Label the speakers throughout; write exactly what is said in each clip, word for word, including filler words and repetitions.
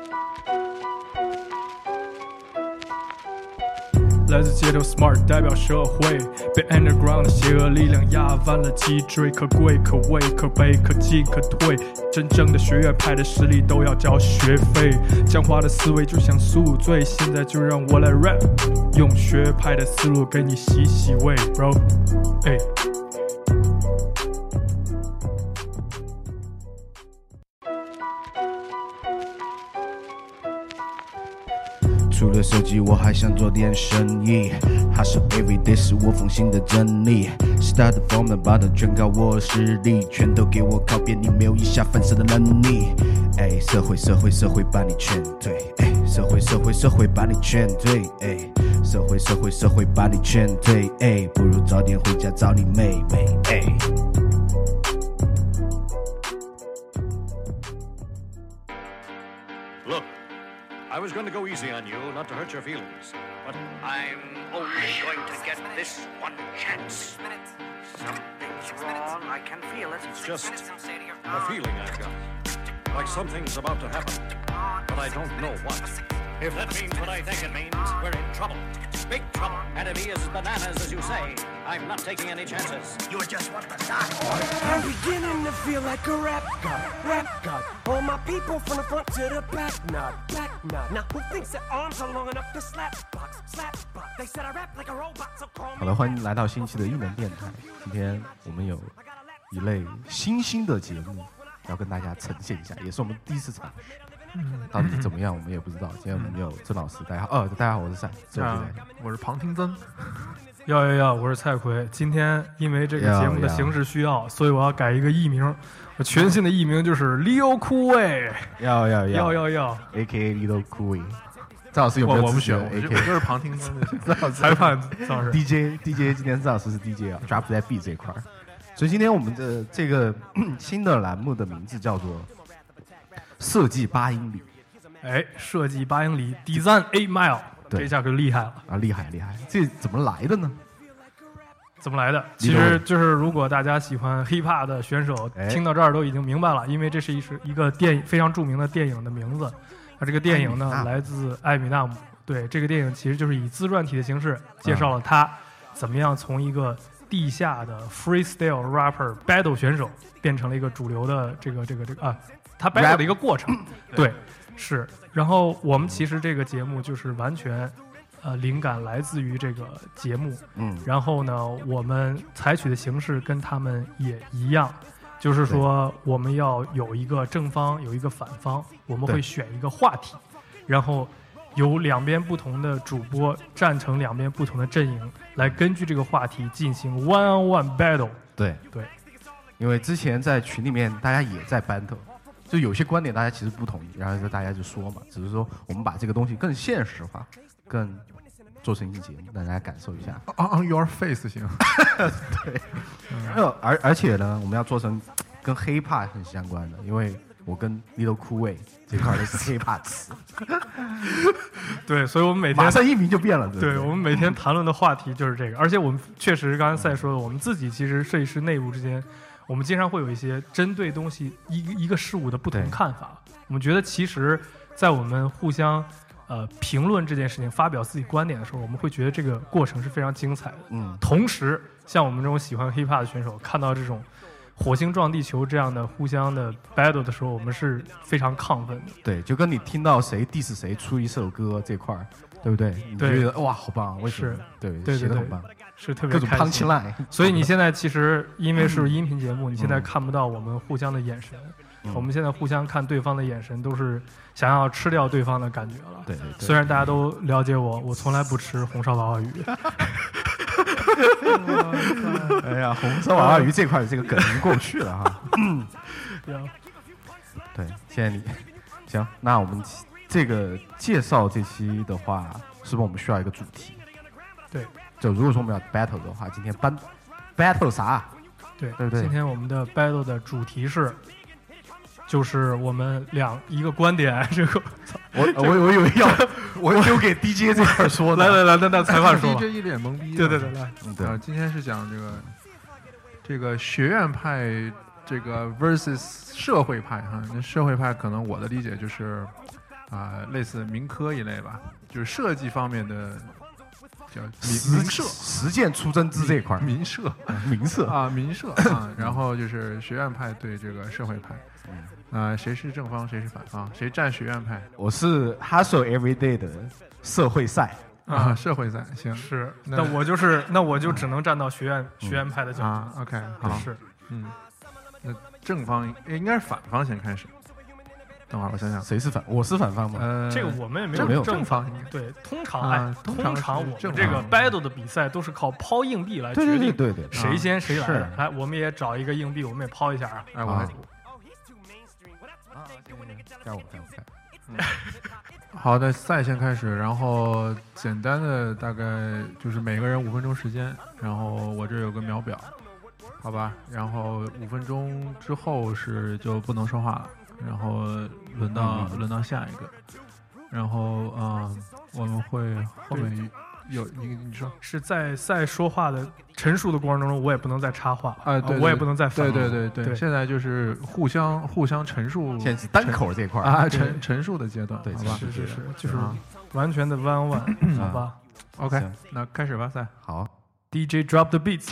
Speaker 1: 来自街头 smart 代表社会，被 underground 的邪恶力量压弯了脊椎，可贵可畏可悲可进可退，真正的学院派的实力都要交学费，僵化的思维就像宿醉，现在就让我来 rap， 用学派的思路给你洗洗胃 bro， 哎。
Speaker 2: 除了设计我还想做点生意， Hustle everyday 是我奉行的真理， Start from the bottom 全靠我实力，全都给我靠边，你没有以下犯事的能力。哎，社会社会社会把你劝退，哎，社会社会社会把你劝退，哎，社会社会社会把你劝退，哎，不如早点回家找你妹妹，哎。
Speaker 3: I was going to go easy on you, not to hurt your feelings, but I'm only going to get this one chance. Something's wrong, I can feel it. It's just a feeling I've got, like something's about to happen, but I don't know what. If that means what I think it means, we're in trouble. Big trouble. Enemy is bananas, as you say. I'm not taking any chances. You're just what the doc ordered.
Speaker 4: I'm beginning to feel like a rap god, rap god. All my people from the front to the back, nod, back nod. Now who thinks their arms are long enough to slap box, slap box? They said I rap like a robot, so call me.
Speaker 5: 好了，欢迎来到新一期的艺能电台。今天我们有一类新兴的节目要跟大家呈现一下，也是我们第一次尝试。嗯，到底怎么样我们也不知道。今天我们有曾老师，大家好，哦，大家好，我是赛，
Speaker 6: 啊，我是庞廷曾。
Speaker 1: 要要要，我是蔡奎。今天因为这个节目的形式需要，所以我要改一个艺名。我全新的艺名就是 Leo Cool。
Speaker 5: 要要
Speaker 1: 要要要
Speaker 5: ，A K A Leo Cool。曾老师有没有？
Speaker 6: 我不选，我就是庞廷曾就行。
Speaker 1: 裁判曾老师
Speaker 5: D J D J 今天曾老师是 D J 啊 ，Drop That Beat 这一块。所以今天我们的这个新的栏目的名字叫做设计八英里。
Speaker 1: 哎，设计八英里 ，Design Eight Mile， 这下可厉害了
Speaker 5: 啊！厉害厉害，这怎么来的呢？
Speaker 1: 怎么来的？其实就是如果大家喜欢 hiphop 的选手，
Speaker 5: 哎、
Speaker 1: 听到这儿都已经明白了，因为这是一是一个电影非常著名的电影的名字。啊，这个电影呢来自艾米纳姆。对，这个电影其实就是以自传体的形式介绍了他怎么样从一个地下的 freestyle rapper battle 选手变成了一个主流的这个这个这个啊，他 battle 的一个过程。对。是，然后我们其实这个节目就是完全，呃，灵感来自于这个节目，嗯，然后呢，我们采取的形式跟他们也一样，就是说我们要有一个正方，有一个反方，我们会选一个话题，然后由两边不同的主播站成两边不同的阵营，来根据这个话题进行 one on one battle。
Speaker 5: 对
Speaker 1: 对，
Speaker 5: 因为之前在群里面大家也在 battle。就有些观点大家其实不同意，然后就大家就说嘛，只是说我们把这个东西更现实化，更做成一期节目，让大家感受一下。
Speaker 6: On your face 行。
Speaker 5: 对，嗯、而而且呢，我们要做成跟 hiphop 很相关的，因为我跟 Leo Cool 这块都是 hiphop 词。
Speaker 1: 对，所以我们每天
Speaker 5: 马上一名就变了。对,
Speaker 1: 对, 对，我们每天谈论的话题就是这个，而且我们确实刚才赛说的，我们自己其实设计师内部之间。我们经常会有一些针对东西一个一个事物的不同看法。我们觉得其实，在我们互相呃评论这件事情、发表自己观点的时候，我们会觉得这个过程是非常精彩的。嗯，同时，像我们这种喜欢 hiphop 的选手，看到这种火星撞地球这样的互相的 battle 的时候，我们是非常亢奋的。
Speaker 5: 对，就跟你听到谁 diss 谁出一首歌这块儿，对不对？你觉得哇，好棒！为什么？对，
Speaker 1: 对
Speaker 5: 写得很棒。
Speaker 1: 是特别
Speaker 5: 各种 punch line，
Speaker 1: 所以你现在其实因为是音频节目，你现在看不到我们互相的眼神。嗯、我们现在互相看对方的眼神，都是想要吃掉对方的感觉了。
Speaker 5: 对对对。
Speaker 1: 虽然大家都了解我，我从来不吃红烧娃娃鱼。
Speaker 5: 哎呀，红烧娃娃鱼这块这个梗已经过不去了哈。嗯。对，现在你行，那我们这个介绍这期的话，是不是我们需要一个主题？
Speaker 1: 对。
Speaker 5: 就如果说我们要 battle 的话，今天班 battle 啥？
Speaker 1: 对
Speaker 5: 对对。
Speaker 1: 今天我们的 battle 的主题是，就是我们两一个观点。这个
Speaker 5: 我我我以为要我丢给 D J 这块说的。
Speaker 1: 来来来，那那裁判说。
Speaker 6: D J 一脸懵逼。
Speaker 1: 对对对，来。
Speaker 6: 嗯，对。今天是讲这个这个学院派这个 versus 社会派哈。那社会派可能我的理解就是啊、类似民科一类吧，就是设计方面的叫
Speaker 5: 实
Speaker 6: 民社
Speaker 5: 实践出真知这一块，
Speaker 6: 民社
Speaker 5: 民社
Speaker 6: 啊民社啊，然后就是学院派对这个社会派。啊、呃，谁是正方，谁是反方？谁站学院派？
Speaker 5: 我是 Hustle Everyday 的社会赛
Speaker 6: 啊，社会赛行
Speaker 1: 是。
Speaker 6: 那
Speaker 1: 那我就是那我就只能站到学院、嗯、学院派的角度
Speaker 6: 啊。OK， 好，
Speaker 1: 是，
Speaker 6: 嗯，那正方应该是反方先开始。等会儿我想想，
Speaker 5: 谁是反？我是反方吗？
Speaker 1: 呃，这个我们也没有
Speaker 6: 正
Speaker 1: 正
Speaker 6: 方。
Speaker 1: 对，通常
Speaker 6: 啊、
Speaker 1: 哎，
Speaker 6: 通
Speaker 1: 常我们这个 battle 的比赛都是靠抛硬币来决定，
Speaker 5: 对对对对，
Speaker 1: 谁先谁来。
Speaker 5: 啊、
Speaker 1: 来，我们也找一个硬币，我们也抛一下啊。
Speaker 6: 哎，我。
Speaker 5: 啊该我该我该
Speaker 6: 嗯，好的，赛先开始，然后简单的大概就是每个人五分钟时间，然后我这有个秒表，好吧，然后五分钟之后是就不能说话了，然后轮到、嗯、轮到下一个，然后啊、呃，我们会后面有你你说
Speaker 1: 是在在说话的陈述的过程中，我也不能再插话
Speaker 6: 啊、呃，对，
Speaker 1: 我也不能再
Speaker 6: 对对对
Speaker 1: 对,
Speaker 6: 对，现在就是互相互相陈述，
Speaker 5: 现在是单口这块
Speaker 6: 啊，陈陈述的阶段，
Speaker 5: 对，
Speaker 6: 好吧，
Speaker 1: 是是是，就是完全的 one one， 好吧
Speaker 6: ，OK， 那开始吧，赛，
Speaker 5: 好
Speaker 1: ，D J drop the beats。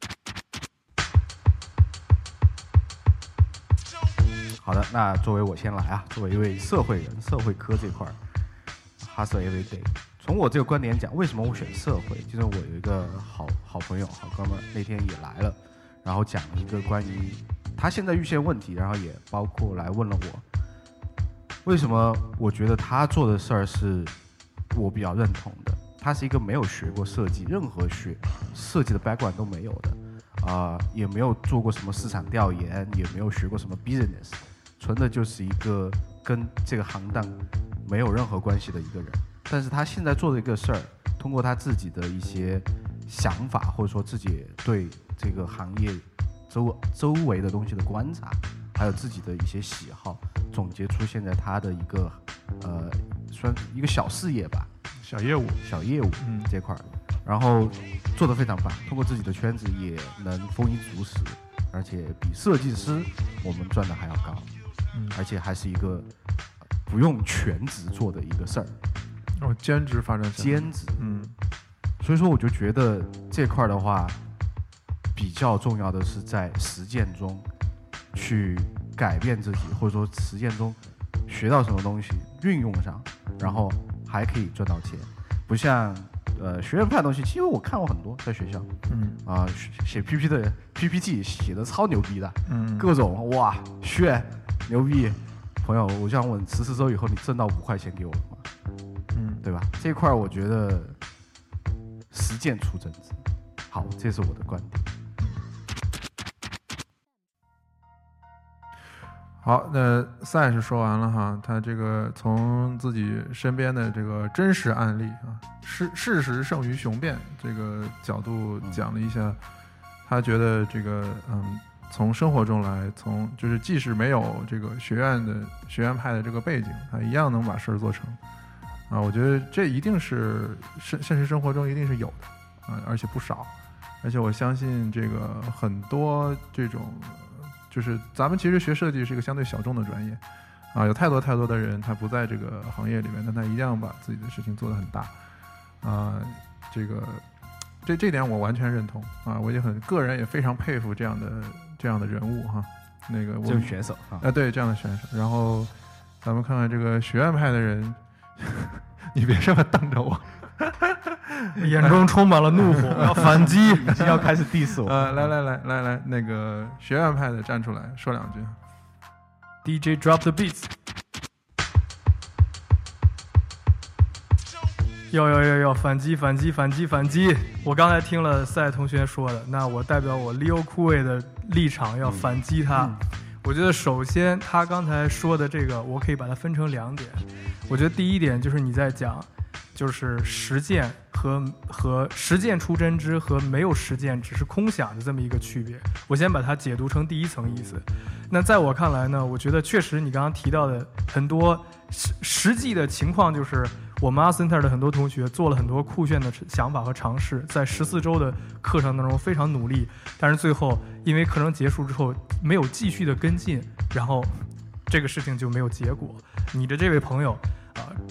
Speaker 5: 好的，那作为我先来啊，作为一位社会人，社会科这块 ，Hustle Everyday。从我这个观点讲，为什么我选社会？就是我有一个好好朋友、好哥们儿，那天也来了，然后讲了一个关于他现在遇见问题，然后也包括来问了我，为什么我觉得他做的事儿是我比较认同的。他是一个没有学过设计，任何学设计的 background 都没有的，啊、呃，也没有做过什么市场调研，也没有学过什么 business， 纯的就是一个跟这个行当没有任何关系的一个人。但是他现在做的一个事儿，通过他自己的一些想法，或者说自己对这个行业周周围的东西的观察，还有自己的一些喜好，总结出现在他的一个呃，算一个小事业吧，
Speaker 6: 小业务，
Speaker 5: 小业务
Speaker 6: 嗯
Speaker 5: 这块儿，然后做得非常棒，通过自己的圈子也能丰衣足食，而且比设计师我们赚的还要高，
Speaker 6: 嗯，
Speaker 5: 而且还是一个不用全职做的一个事儿。
Speaker 6: 哦，兼职发展，
Speaker 5: 兼职，
Speaker 6: 嗯，
Speaker 5: 所以说我就觉得这块的话，比较重要的是在实践中去改变自己，或者说实践中学到什么东西运用上，然后还可以赚到钱。不像呃学院派的东西，其实我看过很多，在学校，
Speaker 6: 嗯
Speaker 5: 啊、呃、写 P P 的 P P T 写的超牛逼的，
Speaker 6: 嗯，
Speaker 5: 各种哇炫牛逼。朋友，我想问，十四周以后你挣到五块钱给我了吗？
Speaker 6: 嗯，
Speaker 5: 对吧？这一块我觉得实践出真知。好，这是我的观点。
Speaker 6: 好，那赛是说完了哈，他这个从自己身边的这个真实案例啊，事事实胜于雄辩这个角度讲了一下，嗯、他觉得这个嗯，从生活中来，从就是即使没有这个学院的学院派的这个背景，他一样能把事儿做成。啊，我觉得这一定是现现实生活中一定是有的啊，而且不少，而且我相信这个很多这种，就是咱们其实学设计是一个相对小众的专业，啊，有太多太多的人他不在这个行业里面，但他一样把自己的事情做得很大，啊，这个这这点我完全认同啊，我也很个人也非常佩服这样的这样的人物哈，那个我
Speaker 5: 这种选手啊，
Speaker 6: 啊对这样的选手，然后咱们看看这个学院派的人。你别这么瞪着我，
Speaker 1: 眼中充满了怒火，要反击，
Speaker 5: 已经要开始 diss 我。
Speaker 6: 呃，来来来来来，那个学院派的站出来说两句。
Speaker 1: D J drop the beats。要要要要反击反击反击反击！我刚才听了赛同学说的，那我代表我 Leo 酷卫的立场要反击他。嗯嗯我觉得首先他刚才说的这个我可以把它分成两点，我觉得第一点就是你在讲就是实践和和实践出真知和没有实践只是空想的这么一个区别，我先把它解读成第一层意思。那在我看来呢，我觉得确实你刚刚提到的很多实实际的情况，就是我们 Art Center 的很多同学做了很多酷炫的想法和尝试，在十四周的课程当中非常努力，但是最后因为课程结束之后没有继续的跟进，然后这个事情就没有结果。你的这位朋友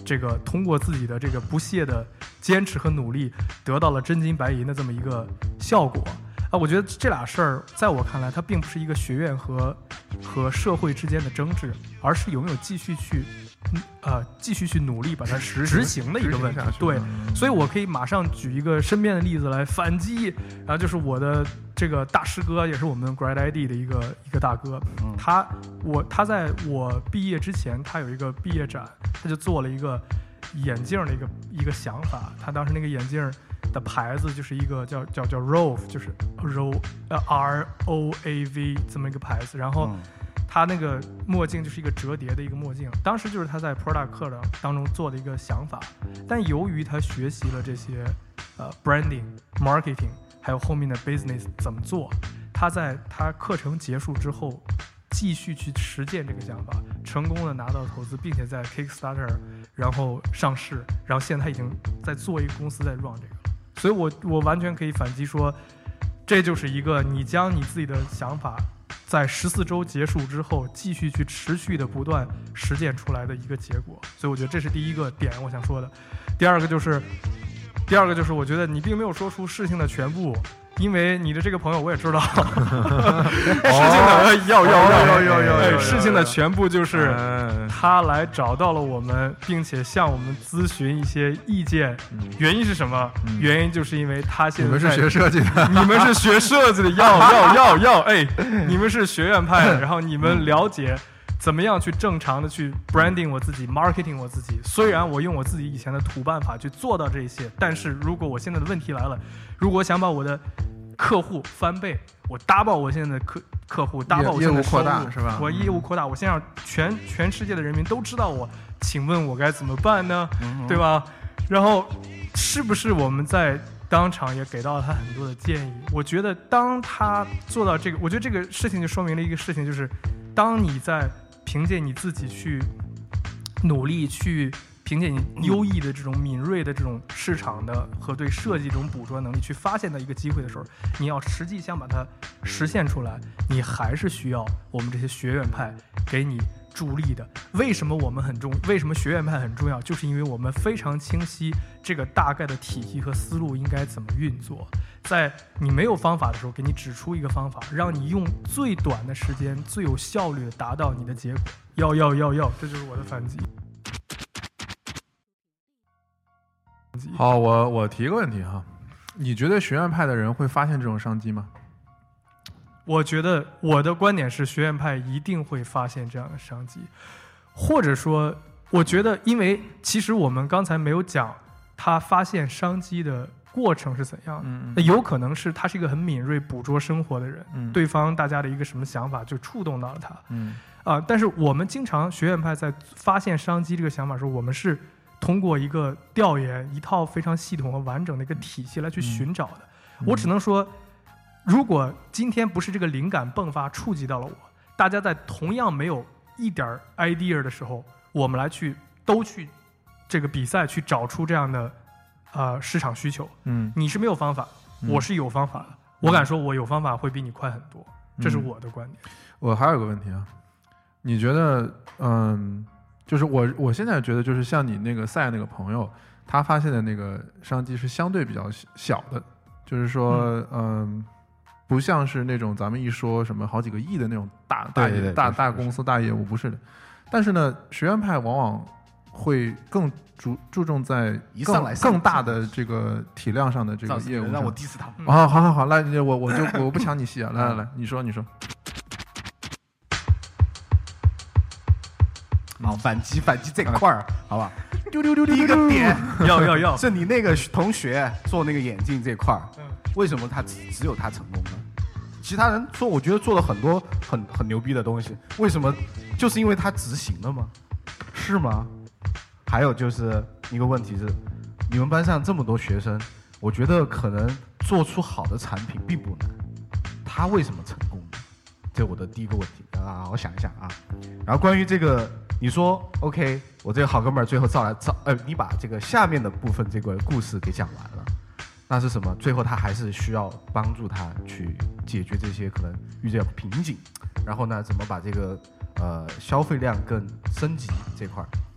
Speaker 1: 这个通过自己的这个不懈的坚持和努力，得到了真金白银的这么一个效果啊！我觉得这俩事儿，在我看来，它并不是一个学院和和社会之间的争执，而是有没有继续去呃继续去努力把它
Speaker 6: 执
Speaker 1: 执行的一个问题。对，所以我可以马上举一个身边的例子来反击，然后就是我的这个大师哥，也是我们 Grad I D 的一个一个大哥，
Speaker 5: 嗯
Speaker 1: 他我他在我毕业之前，他有一个毕业展，他就做了一个眼镜的一个一个想法。他当时那个眼镜的牌子就是一个叫叫叫 Rove， 就是 Ro 呃 R O A V 这么一个牌子，然后。
Speaker 5: 嗯
Speaker 1: 他那个墨镜就是一个折叠的一个墨镜，当时就是他在 product 课的当中做的一个想法，但由于他学习了这些呃 branding、marketing， 还有后面的 business 怎么做，他在他课程结束之后继续去实践这个想法，成功的拿到投资，并且在 Kickstarter 然后上市，然后现在他已经在做一个公司在 run 这个了，所以我我完全可以反击说，这就是一个你将你自己的想法。在十四周结束之后，继续去持续的不断实践出来的一个结果，所以我觉得这是第一个点我想说的。第二个就是，第二个就是我觉得你并没有说出事情的全部，因为你的这个朋友我也知道，事情的要要要要要要，事情的全部就是他来找到了我们，并且向我们咨询一些意见。原因是什么？原因就是因为他现在
Speaker 6: 你们是学设计的，
Speaker 1: 你们是学设计的，要要要要，哎，你们是学院派的，然后你们了解怎么样去正常的去 branding 我自己 marketing 我自己。虽然我用我自己以前的土办法去做到这些，但是如果我现在的问题来了，如果我想把我的客户翻倍，我搭爆我现在的客客户，搭爆我现在的收入，
Speaker 6: 业务扩大是吧？
Speaker 1: 我业务扩大，我先让全全世界的人民都知道我，请问我该怎么办呢？嗯、对吧？然后是不是我们在当场也给到了他很多的建议？我觉得当他做到这个，我觉得这个事情就说明了一个事情，就是当你在凭借你自己去努力去凭借你优异的这种敏锐的这种市场的和对设计这种捕捉能力去发现到一个机会的时候，你要实际想把它实现出来，你还是需要我们这些学院派给你助力的。为什么我们很重？为什么学院派很重要？就是因为我们非常清晰这个大概的体系和思路应该怎么运作。在你没有方法的时候，给你指出一个方法，让你用最短的时间、最有效率的达到你的结果。要要要要，这就是我的反击。
Speaker 6: 好，我我提个问题哈，你觉得学院派的人会发现这种商机吗？
Speaker 1: 我觉得我的观点是，学院派一定会发现这样的商机，或者说，我觉得，因为其实我们刚才没有讲他发现商机的过程是怎样的，
Speaker 6: 嗯、
Speaker 1: 那有可能是他是一个很敏锐捕捉生活的人，
Speaker 6: 嗯、
Speaker 1: 对方大家的一个什么想法就触动到了他，
Speaker 6: 嗯
Speaker 1: 啊、呃，但是我们经常学院派在发现商机这个想法的时候，我们是通过一个调研，一套非常系统和完整的一个体系来去寻找的。
Speaker 6: 嗯、
Speaker 1: 我只能说，如果今天不是这个灵感迸发触及到了我，大家在同样没有一点 idea 的时候，我们来去都去这个比赛去找出这样的呃市场需求。
Speaker 6: 嗯，
Speaker 1: 你是没有方法，
Speaker 6: 嗯、
Speaker 1: 我是有方法的。我敢说，我有方法会比你快很多，这是我的观点。
Speaker 6: 我还有个问题啊，你觉得，嗯，就是我我现在觉得，就是像你那个赛那个朋友，他发现的那个商机是相对比较小的，就是说，嗯。嗯不像是那种咱们一说什么好几个亿的那种大大
Speaker 5: 对对对
Speaker 6: 大大公司大业务，不是的。但是呢，学院派往往会更注注重在
Speaker 5: 一上来
Speaker 6: 更更大的这个体量上的这个业务上。
Speaker 5: 让我 diss 他。
Speaker 6: 啊，好好好，来，我我就我不抢你戏啊，来来来，你说你说。
Speaker 5: 好，反击反击这块儿，好吧？
Speaker 6: 丢丢丢丢。
Speaker 5: 第一个点，
Speaker 1: 要要要，
Speaker 5: 是你那个同学做那个眼镜这块儿。为什么他只只有他成功呢？其他人做，我觉得做了很多很很牛逼的东西，为什么？就是因为他执行了吗？是吗？还有就是一个问题是，你们班上这么多学生，我觉得可能做出好的产品并不难，他为什么成功呢？这是我的第一个问题，大家好好想一想啊。然后关于这个，你说 OK， 我这个好哥们儿最后造来造，呃，你把这个下面的部分这个故事给讲完了。那是什么？最后他还是需要帮助他去解决这些可能遇见瓶颈，然后呢，怎么把这个呃消费量更升级这块儿？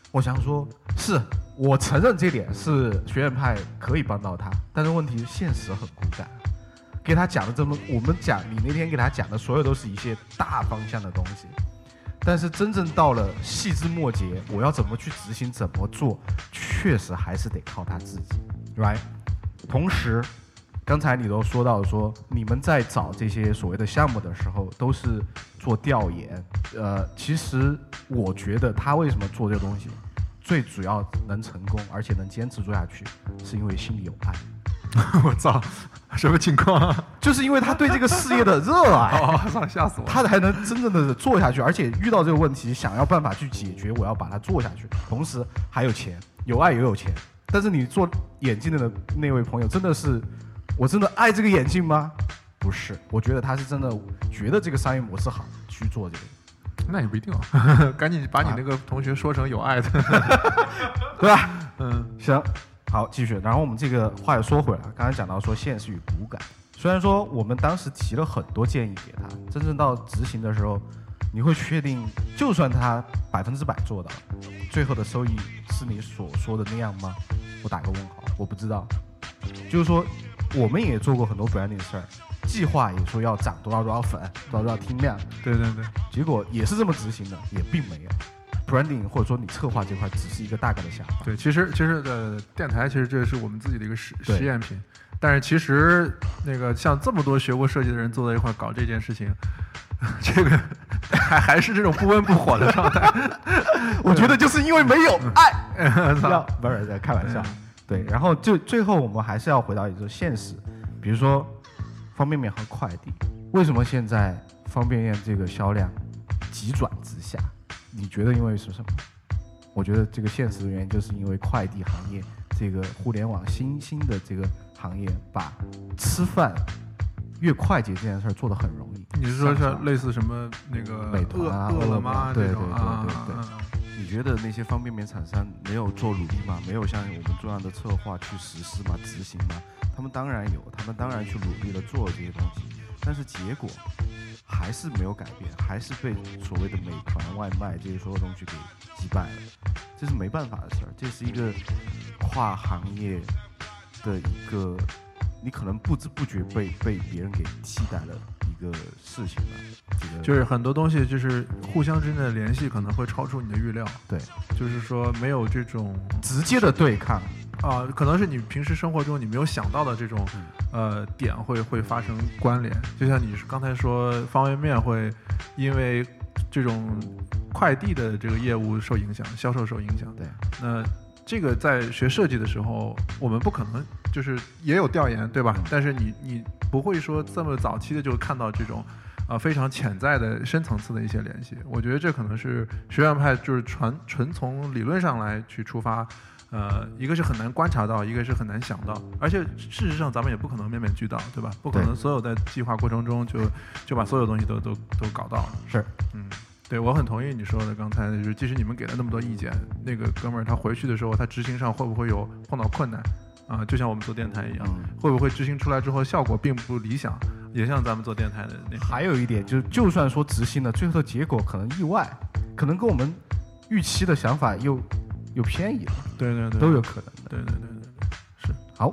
Speaker 5: 我想说，是我承认这点是学院派可以帮到他，但是问题现实很骨感。给他讲的这么，我们讲你那天给他讲的所有都是一些大方向的东西，但是真正到了细枝末节，我要怎么去执行，怎么做，确实还是得靠他自己 ，right？ 同时，刚才你都说到说，你们在找这些所谓的项目的时候，都是做调研。呃，其实我觉得他为什么做这个东西，最主要能成功，而且能坚持做下去，是因为心里有爱。
Speaker 6: 我操，什么情况啊？
Speaker 5: 就是因为他对这个事业的热爱，
Speaker 6: 哦，操，吓死我！
Speaker 5: 他才能真正的做下去，而且遇到这个问题，想要办法去解决，我要把它做下去。同时还有钱，有爱也有钱。但是你做眼镜的那位朋友，真的是，我真的爱这个眼镜吗？不是，我觉得他是真的觉得这个商业模式好，去做这个。
Speaker 6: 那也不一定哦，赶紧把你那个同学说成有爱的，
Speaker 5: 对吧？
Speaker 6: 嗯，
Speaker 5: 行。好，继续。然后我们这个话又说回来，刚才讲到说现实与骨感。虽然说我们当时提了很多建议给他，真正到执行的时候，你会确定，就算他百分之百做到，最后的收益是你所说的那样吗？我打个问号，我不知道。就是说，我们也做过很多 branding 事儿，计划也说要涨多少多少粉，多少多少听量，
Speaker 6: 对对对，
Speaker 5: 结果也是这么执行的，也并没有。branding 或者说你策划这块只是一个大概的想法。
Speaker 6: 对，其实其实呃，电台其实这是我们自己的一个实实验品，但是其实那个像这么多学过设计的人坐在一块搞这件事情，这个还还是这种不温不火的状态。
Speaker 5: 我觉得就是因为没有爱，要不是在开玩笑。对，然后就最后我们还是要回到一个现实，比如说方便面和快递，为什么现在方便面这个销量急转直下？你觉得因为是什么？我觉得这个现实的原因就是因为快递行业这个互联网新兴的这个行业，把吃饭越快捷这件事做得很容易。
Speaker 6: 你是说像类似什么那个
Speaker 5: 美团啊、
Speaker 6: 饿了么
Speaker 5: 这种？
Speaker 6: 对对对对对。
Speaker 2: 你觉得那些方便面厂商没有做努力吗？没有像我们这样的策划去实施吗？执行吗？他们当然有，他们当然去努力的做这些东西，但是结果还是没有改变，还是被所谓的美团外卖这些所有东西给击败了。这是没办法的事儿，这是一个跨行业的一个，你可能不知不觉被被别人给替代了一个事情了。这个
Speaker 6: 就是很多东西就是互相之间的联系可能会超出你的预料。
Speaker 5: 对，
Speaker 6: 就是说没有这种
Speaker 5: 直接的对抗
Speaker 6: 啊、呃，可能是你平时生活中你没有想到的这种呃点会会发生关联。就像你刚才说方便面会因为这种快递的这个业务受影响，销售受影响。
Speaker 5: 对，
Speaker 6: 那这个在学设计的时候，我们不可能就是也有调研，对吧？嗯、但是你你不会说这么早期的就看到这种啊、呃、非常潜在的深层次的一些联系。我觉得这可能是学院派就是纯纯从理论上来去出发。呃，一个是很难观察到，一个是很难想到，而且事实上咱们也不可能面面俱到，对吧？不可能所有在计划过程中就就把所有东西都都都搞到了。
Speaker 5: 是，
Speaker 6: 嗯，对，我很同意你说的，刚才就是即使你们给了那么多意见，那个哥们儿他回去的时候，他执行上会不会有碰到困难啊、呃？就像我们做电台一样、嗯，会不会执行出来之后效果并不理想？也像咱们做电台的那。
Speaker 5: 还有一点就是，就算说执行了，最后的结果可能意外，可能跟我们预期的想法又。有偏移了，
Speaker 6: 对对对，
Speaker 5: 都有可能的，
Speaker 6: 对对对对对，是
Speaker 5: 好，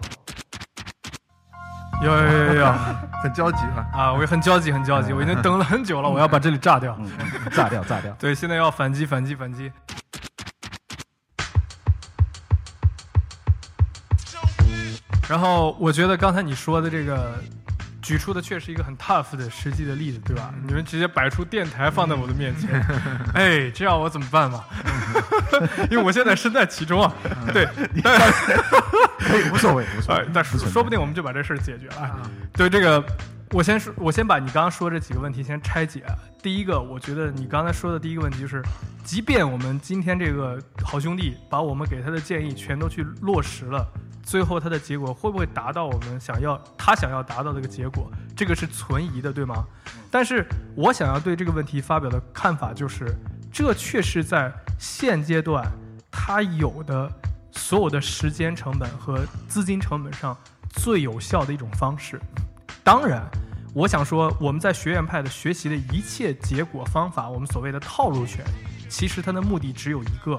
Speaker 1: 有有有有，
Speaker 6: 很焦急了
Speaker 1: 啊！我也很焦急，很焦急，我已经等了很久了，我要把这里炸掉，
Speaker 5: 嗯、炸掉，炸掉。
Speaker 1: 对，现在要反击，反击，反击。然后我觉得刚才你说的这个。举出的确实一个很 tough 的实际的例子，对吧？你们直接摆出电台放在我的面前，哎，这样我怎么办嘛？因为我现在身在其中啊。对，但
Speaker 5: 可以无所谓，无所谓。
Speaker 1: 但说不定我们就把这事儿解决了。对这个，我先说，我先把你刚刚说这几个问题先拆解。第一个，我觉得你刚才说的第一个问题就是，即便我们今天这个好兄弟把我们给他的建议全都去落实了。最后它的结果会不会达到我们想要他想要达到的一个结果，这个是存疑的，对吗？但是我想要对这个问题发表的看法就是，这确实在现阶段它有的所有的时间成本和资金成本上最有效的一种方式。当然我想说，我们在学院派的学习的一切结果方法，我们所谓的套路学，其实它的目的只有一个，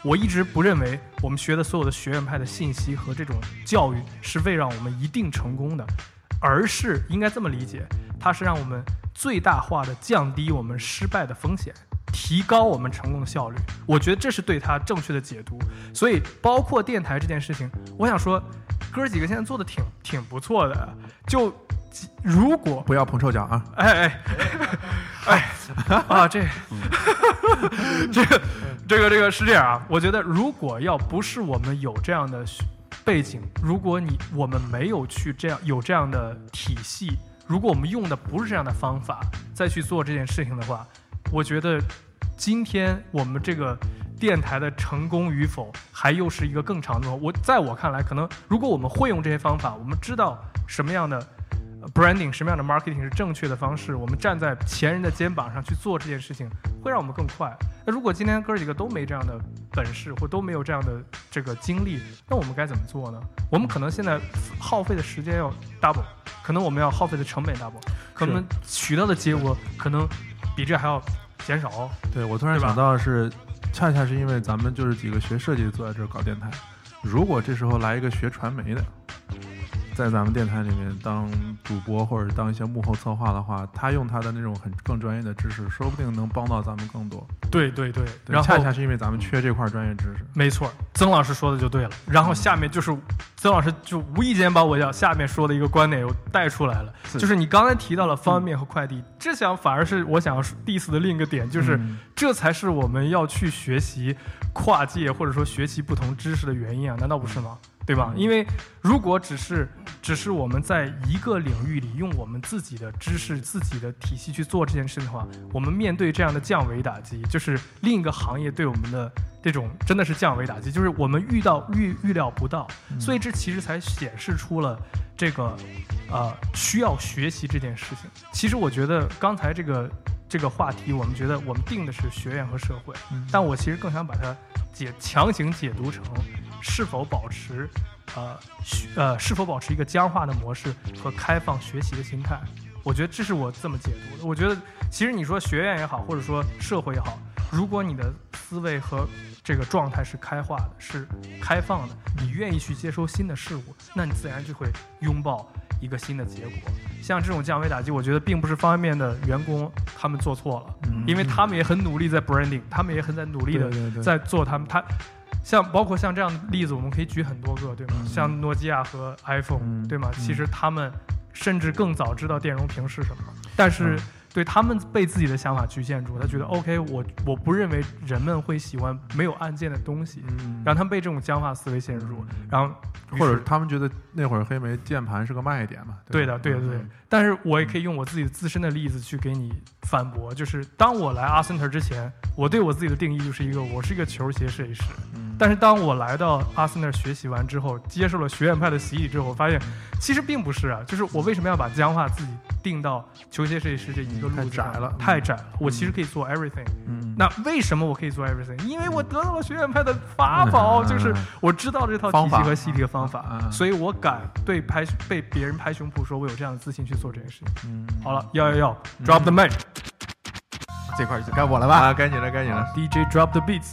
Speaker 1: 我一直不认为我们学的所有的学院派的信息和这种教育是为让我们一定成功的，而是应该这么理解，它是让我们最大化的降低我们失败的风险，提高我们成功的效率。我觉得这是对它正确的解读。所以包括电台这件事情，我想说哥几个现在做的挺挺不错的，就如果
Speaker 6: 不要捧臭脚啊！
Speaker 1: 哎哎哎啊，这这个这个这个是这样啊，我觉得如果要不是我们有这样的背景，如果你我们没有去这样有这样的体系，如果我们用的不是这样的方法再去做这件事情的话，我觉得今天我们这个电台的成功与否还又是一个更长的路。我在我看来，可能如果我们会用这些方法，我们知道什么样的 branding 什么样的 marketing 是正确的方式，我们站在前人的肩膀上去做这件事情，会让我们更快。那如果今天哥几个都没这样的本事，或都没有这样的这个经历，那我们该怎么做呢？我们可能现在耗费的时间要 double， 可能我们要耗费的成本 double， 可能取到的结果可能比这还要减少。
Speaker 6: 对，我突然想到的是，恰恰是因为咱们就是几个学设计的坐在这儿搞电台，如果这时候来一个学传媒的，在咱们电台里面当主播或者当一些幕后策划的话，他用他的那种很更专业的知识，说不定能帮到咱们更多。
Speaker 1: 对对对，
Speaker 6: 然后恰恰是因为咱们缺这块专业知识。
Speaker 1: 没错，曾老师说的就对了。然后下面就是曾老师就无意间把我要下面说的一个观点又带出来了，是就是你刚才提到了方便面和快递，嗯、这想反而是我想要 diss 的另一个点，就是、嗯、这才是我们要去学习跨界或者说学习不同知识的原因啊，难道不是吗？对吧？因为如果只是只是我们在一个领域里用我们自己的知识、自己的体系去做这件事的话，我们面对这样的降维打击，就是另一个行业对我们的这种真的是降维打击，就是我们遇到预预料不到，所以这其实才显示出了这个呃需要学习这件事情。其实我觉得刚才这个这个话题，我们觉得我们定的是学院和社会，嗯、但我其实更想把它解强行解读成是否保持呃呃是否保持一个僵化的模式和开放学习的心态。我觉得这是我这么解读的。我觉得其实你说学院也好，或者说社会也好，如果你的思维和这个状态是开化的，是开放的，你愿意去接收新的事物，那你自然就会拥抱一个新的结果。像这种降维打击，我觉得并不是方便面的员工他们做错了，嗯、因为他们也很努力在 branding， 他们也很在努力的在做他们他。像包括像这样的例子，我们可以举很多个，对吗？嗯、像诺基亚和 iPhone，、嗯、对吗？嗯、其实他们甚至更早知道电容屏是什么，但是对他们被自己的想法局限住，他觉得 OK， 我我不认为人们会喜欢没有按键的东西，嗯、让他们被这种僵化思维限制住，然后
Speaker 6: 或者他们觉得那会儿黑莓键盘是个卖点嘛？
Speaker 1: 对的，对的，对的。但是我也可以用我自己自身的例子去给你反驳，就是当我来阿森特之前，我对我自己的定义就是一个我是一个球鞋设计师。嗯但是当我来到阿森纳学习完之后，接受了学院派的洗礼之后，我发现其实并不是啊，就是我为什么要把僵化自己定到球鞋设计师这一个路子上？
Speaker 6: 太窄了，
Speaker 1: 太窄了。我其实可以做 everything。嗯，那为什么我可以做 everything？ 因为我得到了学院派的法宝，嗯、就是我知道这套体系和洗礼的方法，方法所以我敢对拍被别人拍胸脯说我有这样的自信去做这件事情。嗯，好了，要要要 ，drop the mic，、
Speaker 5: 嗯、这块就该我了吧？
Speaker 6: 啊，该你了，该你了
Speaker 1: ，D J drop the beats。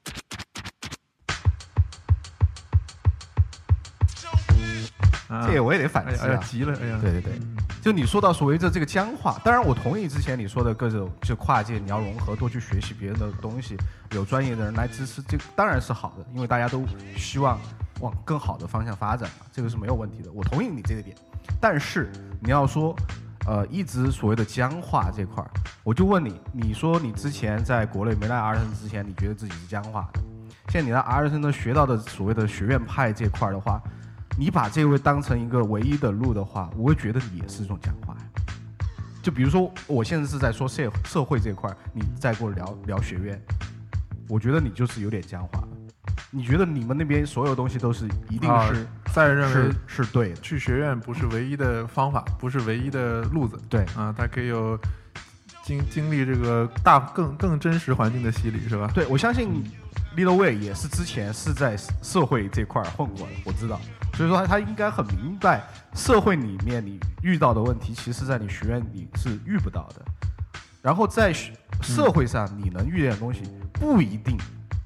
Speaker 5: 这个我也得反思啊！
Speaker 6: 哎呀，急了，哎呀，
Speaker 5: 对对对，就你说到所谓的这个僵化，当然我同意之前你说的各种就跨界，你要融合，多去学习别人的东西，有专业的人来支持，这当然是好的，因为大家都希望往更好的方向发展嘛，这个是没有问题的，我同意你这个点。但是你要说，呃，一直所谓的僵化这块，我就问你，你说你之前在国内没来阿尔森之前，你觉得自己是僵化的，现在你在阿尔森的学到的所谓的学院派这块的话。你把这位当成一个唯一的路的话，我会觉得你也是一种僵化。就比如说，我现在是在说社社会这块，你再跟我聊聊学院，我觉得你就是有点僵化了。你觉得你们那边所有东西都是一定是
Speaker 6: 在、啊、认为
Speaker 5: 是, 是对的，
Speaker 6: 去学院不是唯一的方法，不是唯一的路子。
Speaker 5: 对
Speaker 6: 啊，它可以有经经历这个大更更真实环境的洗礼，是吧？
Speaker 5: 对，我相信 Little Way 也是之前是在社会这块混过的，我知道。所以说他应该很明白，社会里面你遇到的问题，其实在你学院里是遇不到的。然后在社会上你能遇见的东西，不一定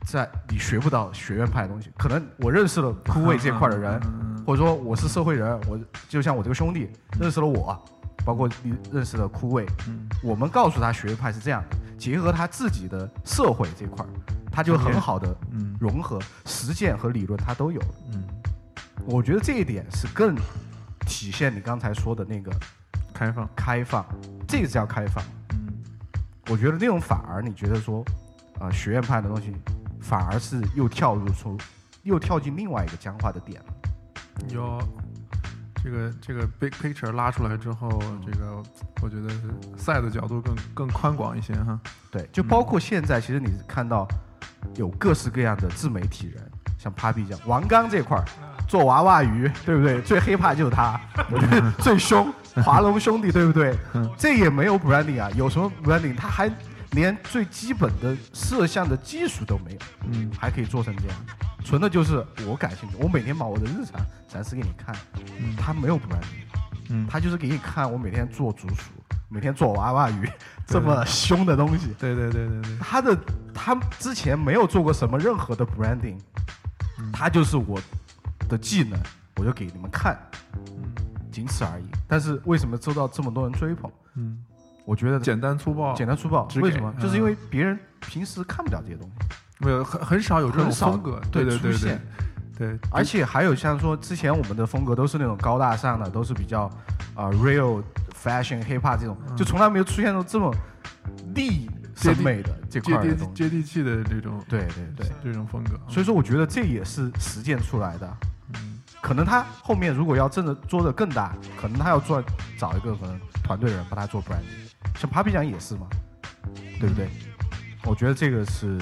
Speaker 2: 在你学不到学院派的东西。可能我认识了枯萎这块的人，或者说我是社会人，我就像我这个兄弟认识了我，包括你认识了枯萎，我们告诉他学院派是这样的，结合他自己的社会这块，他就很好的融合实践和理论，他都有。嗯，我觉得这一点是更体现你刚才说的那个
Speaker 6: 开放，
Speaker 2: 开放，这个叫开放。嗯，我觉得那种反而你觉得说，啊、呃，学院派的东西反而是又跳入出，又跳进另外一个僵化的点了。
Speaker 6: 有这个这个 big picture 拉出来之后，这个我觉得赛的角度更更宽广一些哈。
Speaker 2: 对，就包括现在，其实你看到有各式各样的自媒体人，像 Papi 这样，王刚这块儿做娃娃鱼，对不对？最黑怕就是他，我觉得最凶，华龙兄弟，对不对？这也没有 branding 啊，有什么 branding？ 他还连最基本的摄像的技术都没有，嗯，还可以做成这样，纯的就是我感兴趣，我每天把我的日常展示给你看，嗯，他没有 branding， 嗯，他就是给你看我每天做竹鼠，每天做娃娃鱼，这么凶的东西，
Speaker 6: 对对对对对，
Speaker 2: 他的他之前没有做过什么任何的 branding，嗯，他就是我的技能，我就给你们看，嗯，仅此而已。但是为什么受到这么多人追捧？嗯。我觉得
Speaker 6: 简单粗暴，
Speaker 2: 简单粗暴，为什么？就是因为别人平时看不了这些东西，
Speaker 6: 没有很很少有这种风格，对对对对对。
Speaker 2: 而且还有像说之前我们的风格都是那种高大上的，都是比较啊、呃、real fashion hip hop 这种，就从来没有出现过这么厉审美的这块的东西，
Speaker 6: 接地气的这种，
Speaker 2: 对对对，
Speaker 6: 这种风格。
Speaker 2: 所以说，我觉得这也是实践出来的。嗯，可能他后面如果要真的做的更大，可能他要做找一个可能团队人帮他做 branding。像 Papi 酱也是嘛，对不对？我觉得这个是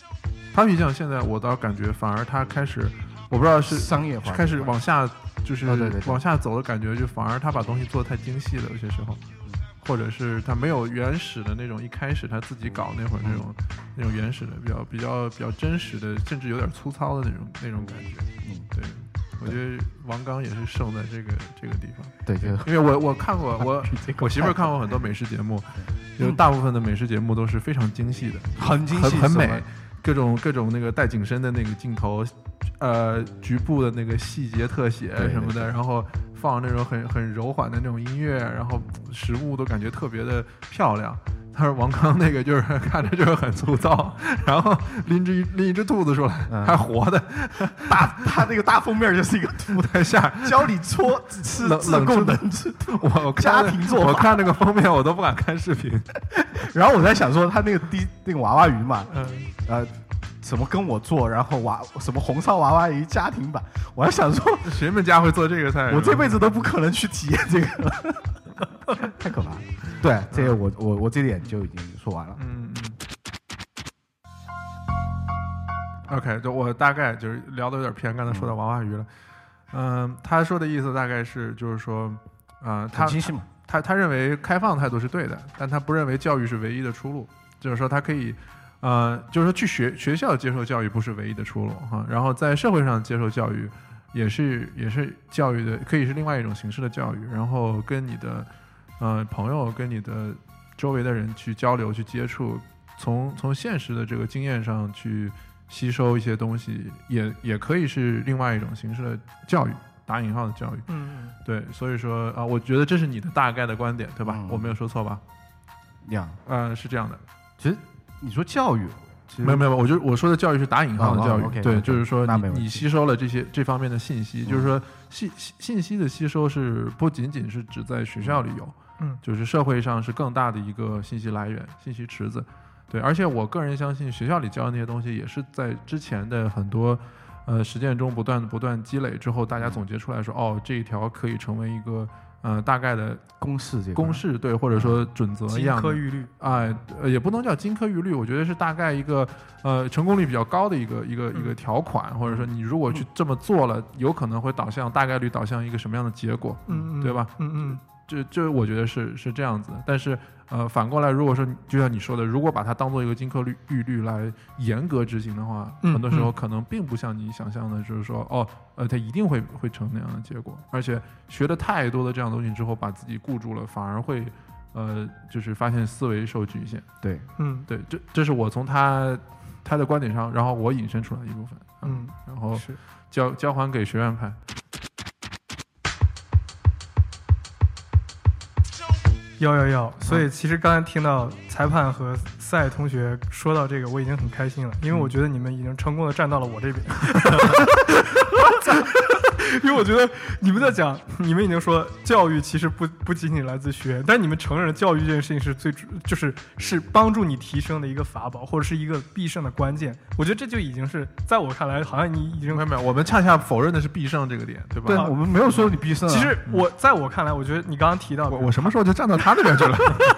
Speaker 6: Papi 酱现在我倒感觉反而他开始，我不知道是
Speaker 2: 商业化，
Speaker 6: 开始往下就是
Speaker 2: 哦、对对对
Speaker 6: 往下走的感觉，就反而他把东西做得太精细了，有些时候，或者是他没有原始的那种一开始他自己搞那会儿那种、嗯、那种原始的比较比较比较真实的，甚至有点粗糙的那种那种感觉。嗯，对。我觉得王刚也是胜在这个这个地方，
Speaker 2: 对，就
Speaker 6: 因为我我看过我我媳妇儿看过很多美食节目，就是大部分的美食节目都是非常精细的，
Speaker 2: 很精细，
Speaker 6: 很美，各种各种那个带景深的那个镜头，呃，局部的那个细节特写什么的，然后放那种很很柔缓的那种音乐，然后食物都感觉特别的漂亮。他说王刚那个就是看着就是很粗糙，然后拎着拎一只兔子出来，嗯、还活的，
Speaker 2: 大他那个大封面就是一个兔在下，教你搓吃自贡冷吃兔，
Speaker 6: 我
Speaker 2: 家庭做法。
Speaker 6: 我看那个封面我都不敢看视频，
Speaker 2: 然后我在想说他那个第那个娃娃鱼嘛，嗯呃。什么跟我做，然后娃什么红烧娃娃鱼家庭版，我还想说
Speaker 6: 谁们家会做这个菜？
Speaker 2: 我这辈子都不可能去体验这个了，太可怕了。对，这个我我我这点就已经说完了。嗯
Speaker 6: 嗯。OK， 就我大概就是聊的有点偏，刚才说到娃娃鱼了。嗯、呃，他说的意思大概是就是说，啊、呃，他他他认为开放态度是对的，但他不认为教育是唯一的出路，就是说他可以。呃，就是说去学学校接受教育不是唯一的出路哈，然后在社会上接受教育也是也是教育的，可以是另外一种形式的教育，然后跟你的呃朋友跟你的周围的人去交流去接触，从从现实的这个经验上去吸收一些东西，也也可以是另外一种形式的教育，打引号的教育。嗯，对，所以说啊、呃，我觉得这是你的大概的观点，对吧？嗯、我没有说错吧？
Speaker 2: 呀，
Speaker 6: 呃，是这样的，
Speaker 2: 其实。你说教育，
Speaker 6: 没有没有，我就我说的教育是打引号的教育，
Speaker 2: 哦哦 okay,
Speaker 6: 对，
Speaker 2: okay,
Speaker 6: 就是说你你吸收了这些这方面的信息，嗯、就是说信信息的吸收是不仅仅是只在学校里有，嗯，就是社会上是更大的一个信息来源、信息池子，对，而且我个人相信学校里教的那些东西也是在之前的很多呃实践中不断不断积累之后，大家总结出来说，哦，这一条可以成为一个。呃，大概的
Speaker 2: 公式，这
Speaker 6: 公式对，或者说准则一样的，
Speaker 1: 金科玉律，
Speaker 6: 哎、呃，也不能叫金科玉律，我觉得是大概一个呃成功率比较高的一个一个、嗯、一个条款，或者说你如果去这么做了，有可能会导向大概率导向一个什么样的结果，嗯，对吧？嗯嗯，这这我觉得是是这样子的，但是呃反过来，如果说就像你说的，如果把它当做一个金科玉律来严格执行的话，嗯、很多时候可能并不像你想象的，就是说哦。呃，它一定会会成那样的结果，而且学了太多的这样的东西之后，把自己固住了，反而会，呃，就是发现思维受局限。
Speaker 2: 对，
Speaker 6: 嗯，对，这这是我从他他的观点上，然后我引申出来一部分，
Speaker 1: 嗯，
Speaker 6: 然后
Speaker 1: 是
Speaker 6: 交交还给学院派。
Speaker 1: 要要要，所以其实刚才听到裁判和赛同学说到这个，我已经很开心了，因为我觉得你们已经成功的站到了我这边。因为我觉得你们在讲，你们已经说教育其实不不仅仅来自学院，但你们承认教育这件事情是最就是是帮助你提升的一个法宝，或者是一个必胜的关键。我觉得这就已经是在我看来，好像你已经
Speaker 6: 没有没有，我们恰恰否认的是必胜这个点，对吧？
Speaker 5: 对，我们没有说你必胜、啊。
Speaker 1: 其实我在我看来，我觉得你刚刚提到
Speaker 6: 我我什么时候就站到他那边去了？